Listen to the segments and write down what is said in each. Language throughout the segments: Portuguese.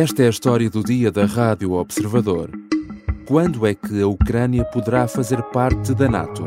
Esta é a história do dia da Rádio Observador. Quando é que a Ucrânia poderá fazer parte da NATO?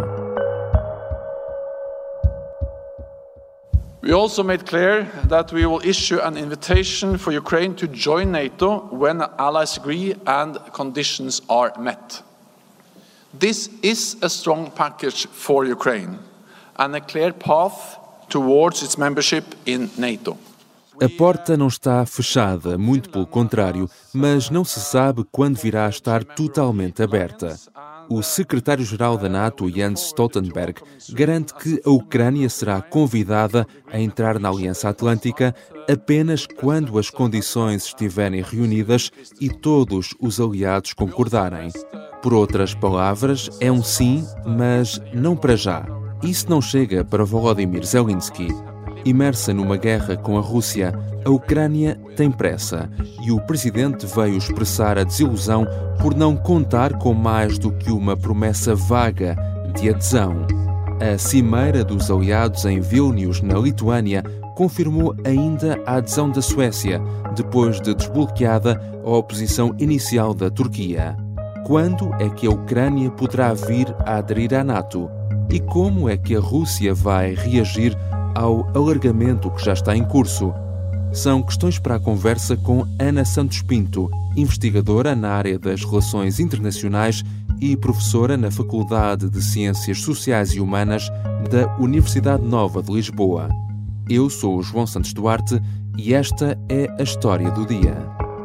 We also made clear that we will issue an invitation for Ukraine to join NATO when allies agree and conditions are met. This is a strong package for Ukraine and a clear path towards its membership in NATO. A porta não está fechada, muito pelo contrário, mas não se sabe quando virá a estar totalmente aberta. O secretário-geral da NATO, Jens Stoltenberg, garante que a Ucrânia será convidada a entrar na Aliança Atlântica apenas quando as condições estiverem reunidas e todos os aliados concordarem. Por outras palavras, é um sim, mas não para já. Isso não chega para Volodymyr Zelensky. Imersa numa guerra com a Rússia, a Ucrânia tem pressa e o presidente veio expressar a desilusão por não contar com mais do que uma promessa vaga de adesão. A cimeira dos aliados em Vilnius, na Lituânia, confirmou ainda a adesão da Suécia, depois de desbloqueada a oposição inicial da Turquia. Quando é que a Ucrânia poderá vir a aderir à NATO? E como é que a Rússia vai reagir ao alargamento que já está em curso? São questões para a conversa com Ana Santos Pinto, investigadora na área das relações internacionais e professora na Faculdade de Ciências Sociais e Humanas da Universidade Nova de Lisboa. Eu sou o João Santos Duarte e esta é a história do dia.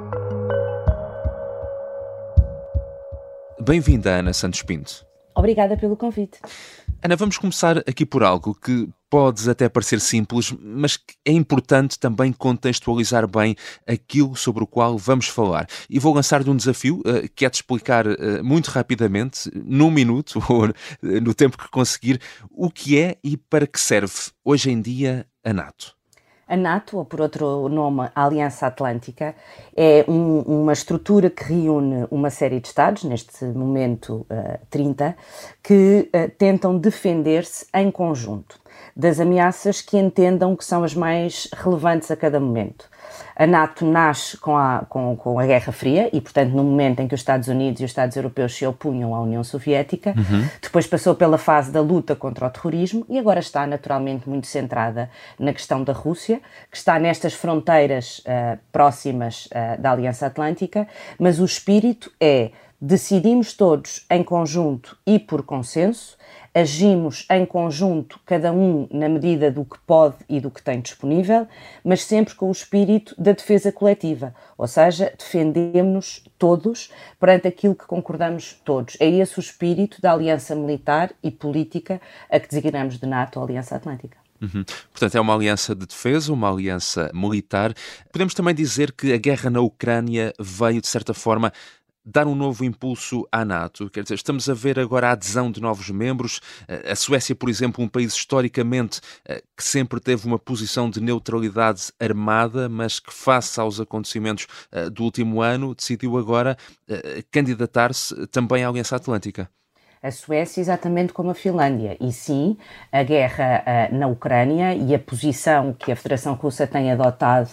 Bem-vinda, Ana Santos Pinto. Obrigada pelo convite. Ana, vamos começar aqui por algo que pode até parecer simples, mas que é importante também contextualizar bem aquilo sobre o qual vamos falar. E vou lançar-lhe um desafio, que é de explicar muito rapidamente, num minuto ou no tempo que conseguir, o que é e para que serve hoje em dia a NATO. A NATO, ou por outro nome, a Aliança Atlântica, é uma estrutura que reúne uma série de Estados, neste momento 30, que tentam defender-se em conjunto das ameaças que entendam que são as mais relevantes a cada momento. A NATO nasce com a Guerra Fria e, portanto, no momento em que os Estados Unidos e os Estados Europeus se opunham à União Soviética, depois passou pela fase da luta contra o terrorismo e agora está naturalmente muito centrada na questão da Rússia, que está nestas fronteiras próximas da Aliança Atlântica, mas o espírito é: decidimos todos em conjunto e por consenso, agimos em conjunto, cada um na medida do que pode e do que tem disponível, mas sempre com o espírito da defesa coletiva, ou seja, defendemos-nos todos perante aquilo que concordamos todos. É esse o espírito da aliança militar e política a que designamos de NATO a Aliança Atlântica. Portanto, é uma aliança de defesa, uma aliança militar. Podemos também dizer que a guerra na Ucrânia veio, de certa forma, dar um novo impulso à NATO. Quer dizer, estamos a ver agora a adesão de novos membros. A Suécia, por exemplo, um país historicamente que sempre teve uma posição de neutralidade armada, mas que face aos acontecimentos do último ano decidiu agora candidatar-se também à Aliança Atlântica. A Suécia, exatamente como a Finlândia. E sim, a guerra na Ucrânia e a posição que a Federação Russa tem adotado,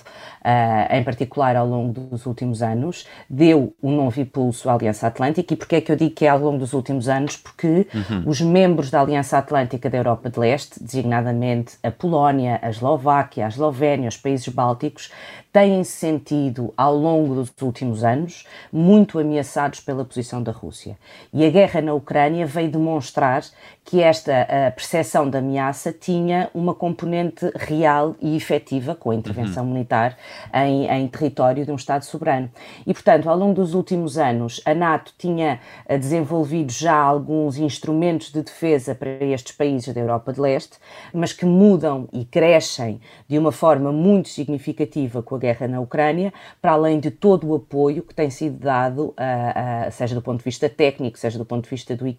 em particular ao longo dos últimos anos, deu um novo impulso à Aliança Atlântica. E porquê é que eu digo que é ao longo dos últimos anos? Porque os membros da Aliança Atlântica da Europa de Leste, designadamente a Polónia, a Eslováquia, a Eslovénia, os países bálticos, têm-se sentido, ao longo dos últimos anos, muito ameaçados pela posição da Rússia. E a guerra na Ucrânia veio demonstrar que esta percepção de ameaça tinha uma componente real e efetiva, com a intervenção militar em território de um Estado soberano. E, portanto, ao longo dos últimos anos, a NATO tinha desenvolvido já alguns instrumentos de defesa para estes países da Europa de Leste, mas que mudam e crescem de uma forma muito significativa com a guerra na Ucrânia, para além de todo o apoio que tem sido dado, seja do ponto de vista técnico, seja do ponto de vista do equipamento,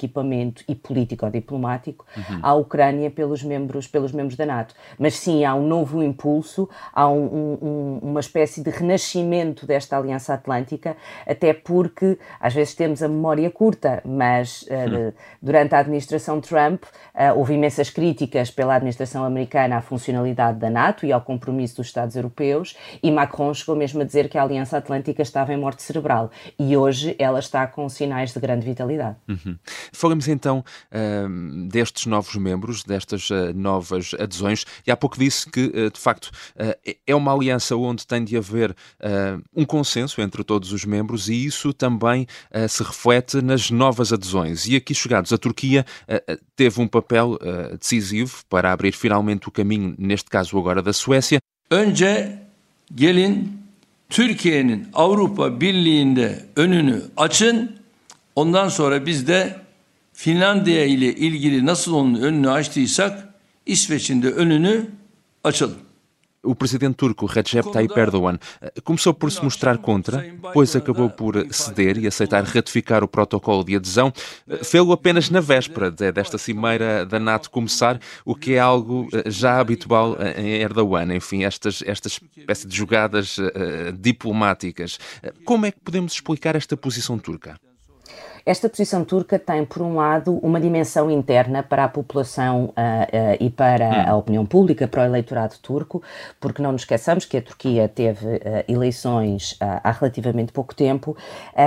equipamento e político-diplomático à Ucrânia pelos membros da NATO. Mas sim, há um novo impulso, há uma espécie de renascimento desta Aliança Atlântica, até porque às vezes temos a memória curta, mas durante a administração Trump houve imensas críticas pela administração americana à funcionalidade da NATO e ao compromisso dos Estados europeus, e Macron chegou mesmo a dizer que a Aliança Atlântica estava em morte cerebral, e hoje ela está com sinais de grande vitalidade. Falamos então destes novos membros, destas novas adesões, e há pouco disse que, de facto, é uma aliança onde tem de haver um consenso entre todos os membros, e isso também se reflete nas novas adesões. E aqui chegados, a Turquia teve um papel decisivo para abrir finalmente o caminho, neste caso agora da Suécia. Önce gelin Türkiye'nin Avrupa Birliği'nde önünü açın. Ondan sonra biz de Finlandiya ile ilgili nasıl onun önünü açtıysak İsveç'in de önünü açalım. O presidente turco Recep Tayyip Erdogan começou por se mostrar contra, depois acabou por ceder e aceitar ratificar o protocolo de adesão. Fê-lo apenas na véspera desta cimeira da NATO começar, o que é algo já habitual em Erdogan. Enfim, esta espécie de jogadas diplomáticas. Como é que podemos explicar esta posição turca? Esta posição turca tem, por um lado, uma dimensão interna para a população e para a opinião pública, para o eleitorado turco, porque não nos esqueçamos que a Turquia teve eleições há relativamente pouco tempo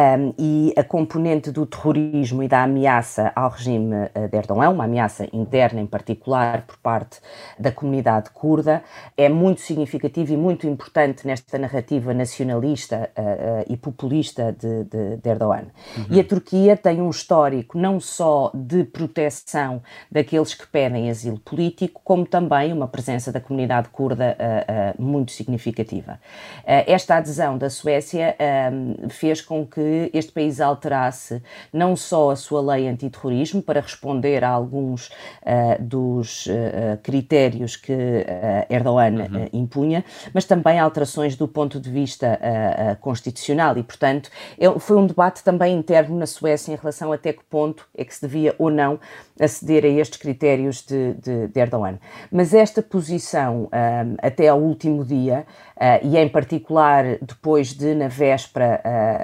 e a componente do terrorismo e da ameaça ao regime de Erdogan, uma ameaça interna em particular por parte da comunidade curda, é muito significativa e muito importante nesta narrativa nacionalista e populista de Erdogan. E a Turquia tem um histórico não só de proteção daqueles que pedem asilo político, como também uma presença da comunidade curda muito significativa. Esta adesão da Suécia fez com que este país alterasse não só a sua lei antiterrorismo para responder a alguns dos critérios que Erdogan impunha, mas também alterações do ponto de vista constitucional e, portanto, foi um debate também interno na Suécia em relação até que ponto é que se devia ou não aceder a estes critérios de Erdogan. Mas esta posição, até ao último dia, e em particular depois de, na véspera,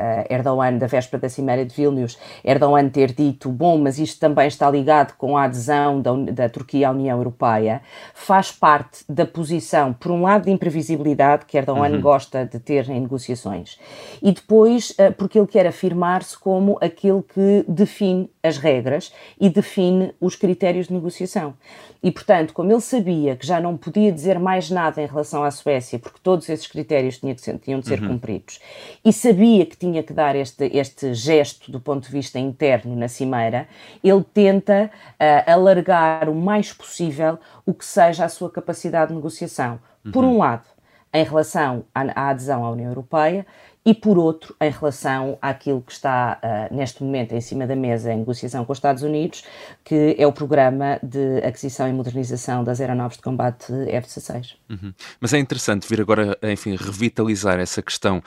da véspera da Cimeira de Vilnius, Erdogan ter dito, bom, mas isto também está ligado com a adesão da Turquia à União Europeia, faz parte da posição, por um lado, de imprevisibilidade que Erdogan gosta de ter em negociações, e depois porque ele quer afirmar-se como aquele que define as regras e define os critérios de negociação. E, portanto, como ele sabia que já não podia dizer mais nada em relação à Suécia, porque todos esses critérios tinham de ser cumpridos, e sabia que tinha que dar este gesto do ponto de vista interno na Cimeira, ele tenta alargar o mais possível o que seja a sua capacidade de negociação. Por um lado, em relação à adesão à União Europeia, e, por outro, em relação àquilo que está neste momento em cima da mesa em negociação com os Estados Unidos, que é o programa de aquisição e modernização das aeronaves de combate F-16. Mas é interessante vir agora, enfim, revitalizar essa questão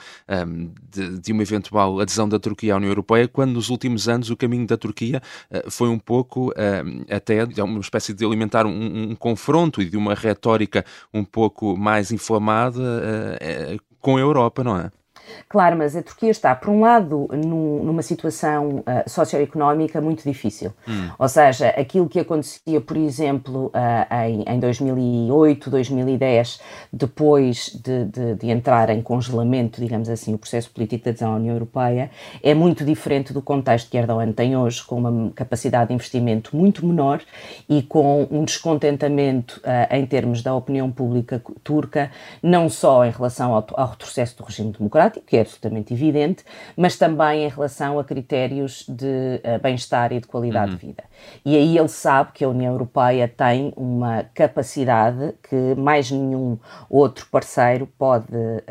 de uma eventual adesão da Turquia à União Europeia, quando nos últimos anos o caminho da Turquia foi um pouco até uma espécie de alimentar um confronto e de uma retórica um pouco mais inflamada com a Europa, não é? Claro, mas a Turquia está, por um lado, numa situação socioeconómica muito difícil. Ou seja, aquilo que acontecia, por exemplo, em 2008, 2010, depois de entrar em congelamento, digamos assim, o processo político de adesão à União Europeia, é muito diferente do contexto que Erdogan tem hoje, com uma capacidade de investimento muito menor e com um descontentamento em termos da opinião pública turca, não só em relação ao retrocesso do regime democrático, que é absolutamente evidente, mas também em relação a critérios de bem-estar e de qualidade de vida. E aí ele sabe que a União Europeia tem uma capacidade que mais nenhum outro parceiro pode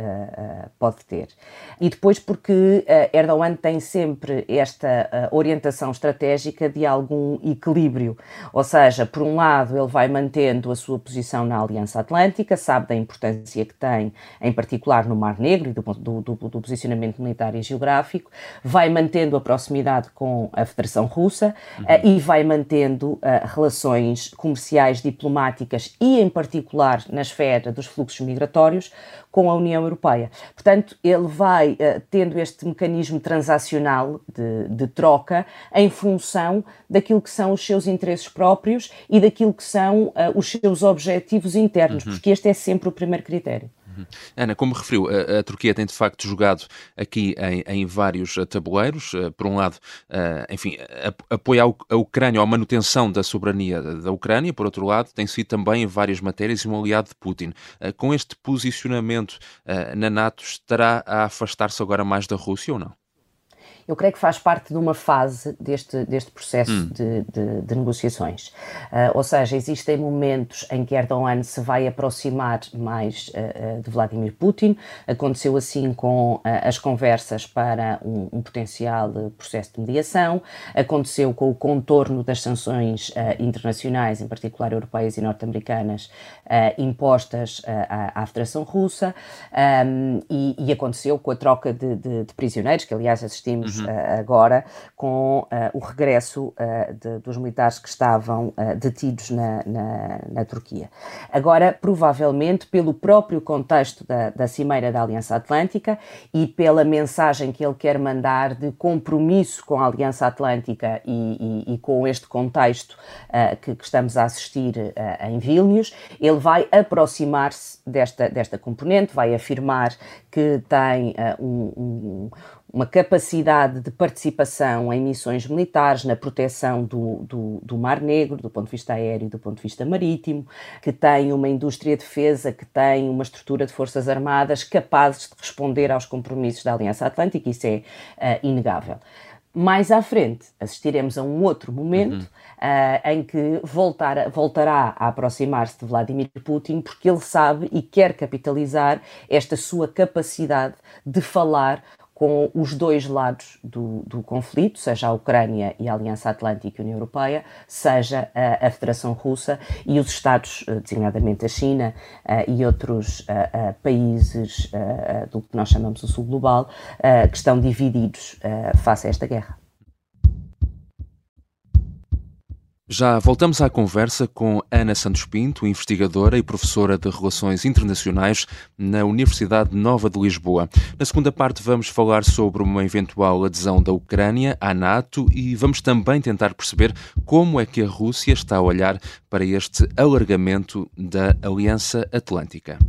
ter. E depois porque Erdogan tem sempre esta orientação estratégica de algum equilíbrio, ou seja, por um lado ele vai mantendo a sua posição na Aliança Atlântica, sabe da importância que tem, em particular no Mar Negro e do do posicionamento militar e geográfico, vai mantendo a proximidade com a Federação Russa e vai mantendo relações comerciais, diplomáticas e, em particular, na esfera dos fluxos migratórios, com a União Europeia. Portanto, ele vai tendo este mecanismo transacional de troca em função daquilo que são os seus interesses próprios e daquilo que são os seus objetivos internos, porque este é sempre o primeiro critério. Ana, como referiu, a Turquia tem de facto jogado aqui em vários tabuleiros. Por um lado, enfim, apoia a Ucrânia, ou a manutenção da soberania da Ucrânia. Por outro lado, tem sido também em várias matérias um aliado de Putin. Com este posicionamento na NATO, estará a afastar-se agora mais da Rússia ou não? Eu creio que faz parte de uma fase deste processo de negociações. Ou seja, existem momentos em que Erdogan se vai aproximar mais de Vladimir Putin. Aconteceu assim com as conversas para um potencial processo de mediação. Aconteceu com o contorno das sanções internacionais, em particular europeias e norte-americanas, impostas à Federação Russa. E aconteceu com a troca de prisioneiros, que aliás assistimos agora com o regresso dos militares que estavam detidos na Turquia. Agora, provavelmente, pelo próprio contexto da Cimeira da Aliança Atlântica e pela mensagem que ele quer mandar de compromisso com a Aliança Atlântica e com este contexto que estamos a assistir em Vilnius, ele vai aproximar-se desta componente, vai afirmar que tem uma capacidade de participação em missões militares, na proteção do Mar Negro, do ponto de vista aéreo e do ponto de vista marítimo, que tem uma indústria de defesa, que tem uma estrutura de forças armadas capazes de responder aos compromissos da Aliança Atlântica, isso é inegável. Mais à frente, assistiremos a um outro momento em que voltará a aproximar-se de Vladimir Putin, porque ele sabe e quer capitalizar esta sua capacidade de falar com os dois lados do conflito, seja a Ucrânia e a Aliança Atlântica e a União Europeia, seja a Federação Russa e os Estados, designadamente a China e outros países do que nós chamamos o Sul Global, que estão divididos face a esta guerra. Já voltamos à conversa com Ana Santos Pinto, investigadora e professora de Relações Internacionais na Universidade Nova de Lisboa. Na segunda parte vamos falar sobre uma eventual adesão da Ucrânia à NATO e vamos também tentar perceber como é que a Rússia está a olhar para este alargamento da Aliança Atlântica.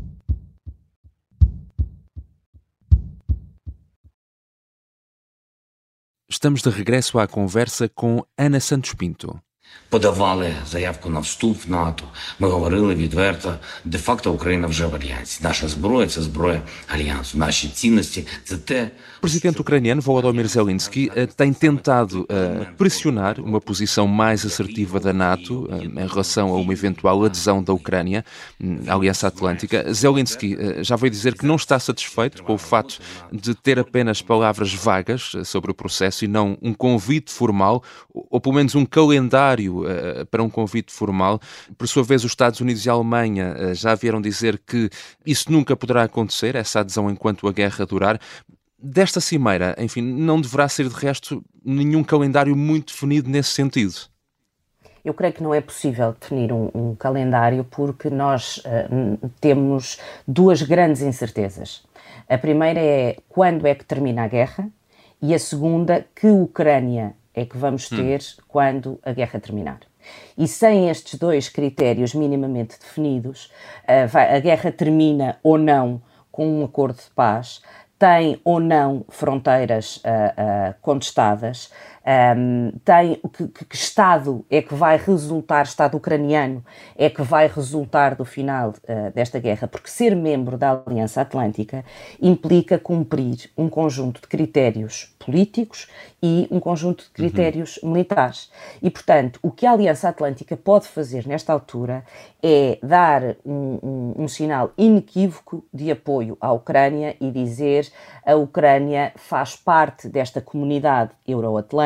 Estamos de regresso à conversa com Ana Santos Pinto. Подавали заявку на вступ в НАТО. Ми говорили відверто, де-факто Україна вже в альянсі. Наша зброя – це зброя альянсу. Наші цінності – це те... O presidente ucraniano Volodymyr Zelensky tem tentado pressionar uma posição mais assertiva da NATO em relação a uma eventual adesão da Ucrânia à Aliança Atlântica. Zelensky já veio dizer que não está satisfeito com o fato de ter apenas palavras vagas sobre o processo e não um convite formal, ou pelo menos um calendário para um convite formal. Por sua vez, os Estados Unidos e a Alemanha já vieram dizer que isso nunca poderá acontecer, essa adesão enquanto a guerra durar. Desta cimeira, enfim, não deverá ser de resto nenhum calendário muito definido nesse sentido. Eu creio que não é possível definir um calendário porque nós temos duas grandes incertezas. A primeira é quando é que termina a guerra e a segunda, que Ucrânia é que vamos ter quando a guerra terminar. E sem estes dois critérios minimamente definidos, a guerra termina ou não com um acordo de paz, tem ou não fronteiras contestadas, tem que Estado é que vai resultar, Estado ucraniano, é que vai resultar do final desta guerra, porque ser membro da Aliança Atlântica implica cumprir um conjunto de critérios políticos e um conjunto de critérios militares. E, portanto, o que a Aliança Atlântica pode fazer nesta altura é dar um sinal inequívoco de apoio à Ucrânia e dizer a Ucrânia faz parte desta comunidade euroatlântica,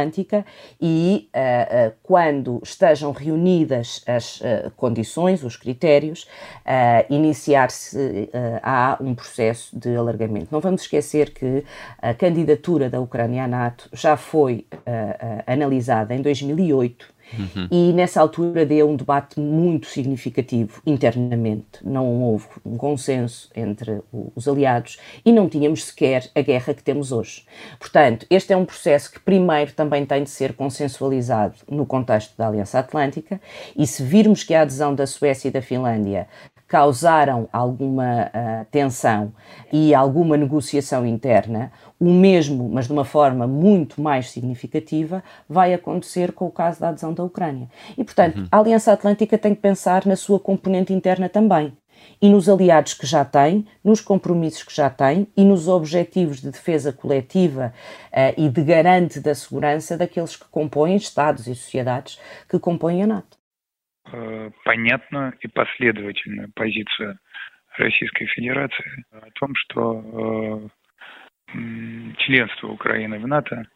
Atlântica e, quando estejam reunidas as condições, os critérios, iniciar-se há um processo de alargamento. Não vamos esquecer que a candidatura da Ucrânia à NATO já foi analisada em 2008, e nessa altura deu um debate muito significativo internamente. Não houve um consenso entre os aliados e não tínhamos sequer a guerra que temos hoje. Portanto, este é um processo que primeiro também tem de ser consensualizado no contexto da Aliança Atlântica, e se virmos que a adesão da Suécia e da Finlândia causaram alguma tensão e alguma negociação interna, o mesmo, mas de uma forma muito mais significativa, vai acontecer com o caso da adesão da Ucrânia. E, portanto, a Aliança Atlântica tem que pensar na sua componente interna também, e nos aliados que já tem, nos compromissos que já tem e nos objetivos de defesa coletiva e de garante da segurança daqueles que compõem, Estados e sociedades que compõem a NATO. Понятна и последовательная позиция Российской Федерации о том, что членство Украины в НАТО.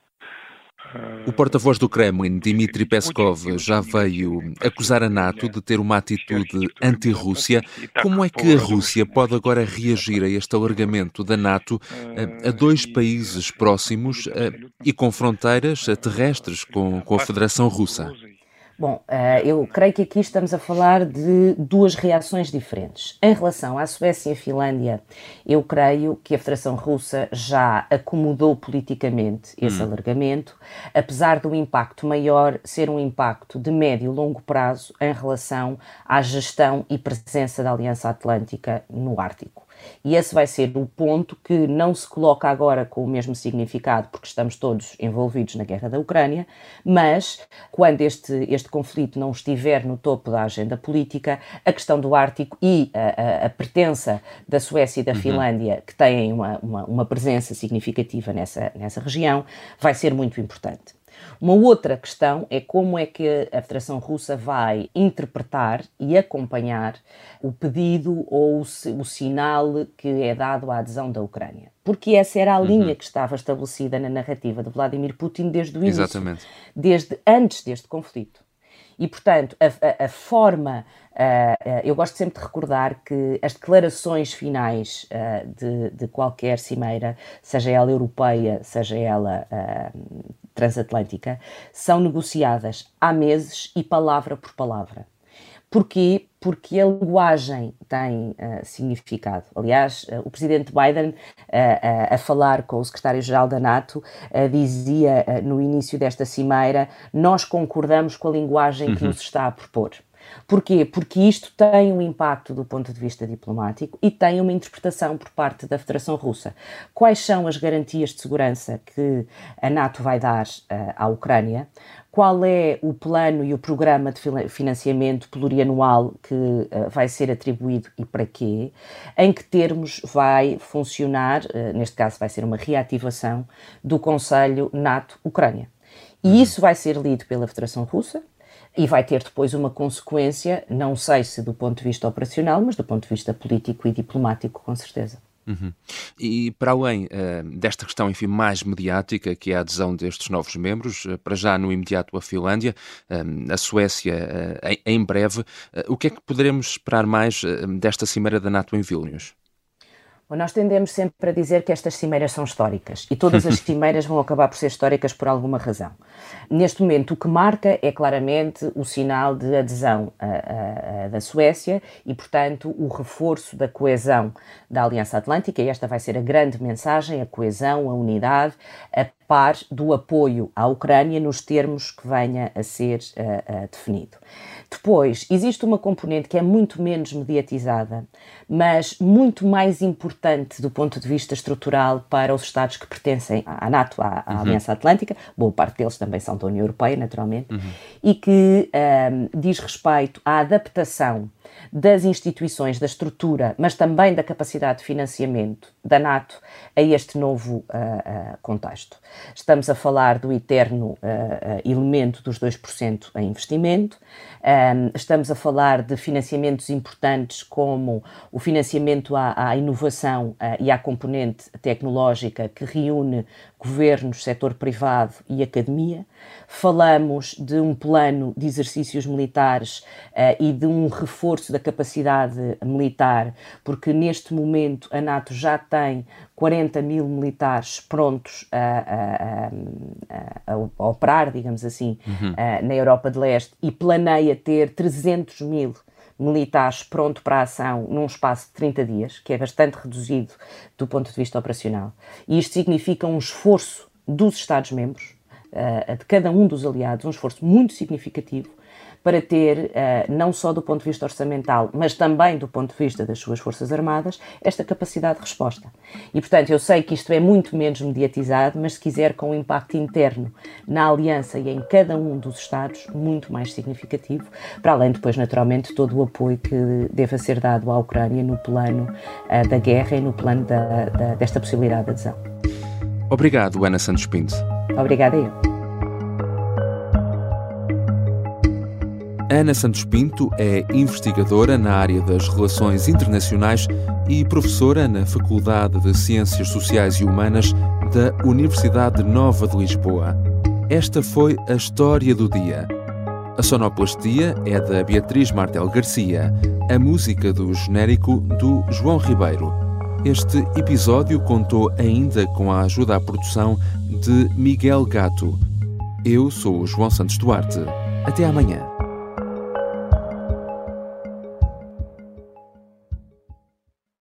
O porta-voz do Kremlin, Dmitry Peskov, já veio acusar a NATO de ter uma atitude anti-Rússia. Como é que a Rússia pode agora reagir a este alargamento da NATO a dois países próximos e com fronteiras terrestres com a Federação Russa? Bom, eu creio que aqui estamos a falar de duas reações diferentes. Em relação à Suécia e à Finlândia, eu creio que a Federação Russa já acomodou politicamente esse alargamento, apesar do impacto maior ser um impacto de médio e longo prazo em relação à gestão e presença da Aliança Atlântica no Ártico. E esse vai ser o ponto que não se coloca agora com o mesmo significado, porque estamos todos envolvidos na guerra da Ucrânia, mas quando este conflito não estiver no topo da agenda política, a questão do Ártico e a pertença da Suécia e da Finlândia, que têm uma presença significativa nessa região, vai ser muito importante. Uma outra questão é como é que a Federação Russa vai interpretar e acompanhar o pedido ou o sinal que é dado à adesão da Ucrânia. Porque essa era a linha que estava estabelecida na narrativa de Vladimir Putin desde o início. Exatamente. Desde antes deste conflito. E, portanto, a forma... eu gosto sempre de recordar que as declarações finais de qualquer cimeira, seja ela europeia, seja ela transatlântica, são negociadas há meses e palavra por palavra. Porquê? Porque a linguagem tem significado. Aliás, o presidente Biden, a falar com o secretário-geral da NATO, dizia no início desta cimeira: nós concordamos com a linguagem que nos está a propor. Porquê? Porque isto tem um impacto do ponto de vista diplomático e tem uma interpretação por parte da Federação Russa. Quais são as garantias de segurança que a NATO vai dar à Ucrânia? Qual é o plano e o programa de financiamento plurianual que vai ser atribuído e para quê? Em que termos vai funcionar, neste caso vai ser uma reativação do Conselho NATO-Ucrânia. E isso vai ser lido pela Federação Russa e vai ter depois uma consequência, não sei se do ponto de vista operacional, mas do ponto de vista político e diplomático, com certeza. E para além desta questão, enfim, mais mediática, que é a adesão destes novos membros, para já no imediato a Finlândia, a Suécia em breve, o que é que poderemos esperar mais desta cimeira da NATO em Vilnius? Bom, nós tendemos sempre a dizer que estas cimeiras são históricas e todas as cimeiras vão acabar por ser históricas por alguma razão. Neste momento, o que marca é claramente o sinal de adesão da Suécia e, portanto, o reforço da coesão da Aliança Atlântica, e esta vai ser a grande mensagem, a coesão, a unidade, a par do apoio à Ucrânia nos termos que venha a ser definido. Depois, existe uma componente que é muito menos mediatizada, mas muito mais importante do ponto de vista estrutural para os Estados que pertencem à NATO, à Aliança Atlântica, boa parte deles também são da União Europeia, naturalmente, e que diz respeito à adaptação das instituições, da estrutura, mas também da capacidade de financiamento da NATO a este novo contexto. Estamos a falar do eterno elemento dos 2% em investimento, estamos a falar de financiamentos importantes como o financiamento à inovação e à componente tecnológica que reúne governos, setor privado e academia. Falamos de um plano de exercícios militares e de um reforço da capacidade militar, porque neste momento a NATO já tem 40 mil militares prontos a operar, digamos assim, na Europa de Leste, e planeia ter 300 mil militares pronto para a ação num espaço de 30 dias, que é bastante reduzido do ponto de vista operacional. E isto significa um esforço dos Estados-membros, de cada um dos aliados, um esforço muito significativo para ter, não só do ponto de vista orçamental, mas também do ponto de vista das suas Forças Armadas, esta capacidade de resposta. E, portanto, eu sei que isto é muito menos mediatizado, mas se quiser com um impacto interno na Aliança e em cada um dos Estados, muito mais significativo, para além depois, naturalmente, todo o apoio que deva ser dado à Ucrânia no plano da guerra e no plano desta possibilidade de adesão. Obrigado, Ana Santos Pinto. Obrigada a eu. Ana Santos Pinto é investigadora na área das relações internacionais e professora na Faculdade de Ciências Sociais e Humanas da Universidade Nova de Lisboa. Esta foi a história do dia. A sonoplastia é da Beatriz Martel Garcia, a música do genérico do João Ribeiro. Este episódio contou ainda com a ajuda à produção de Miguel Gato. Eu sou o João Santos Duarte. Até amanhã.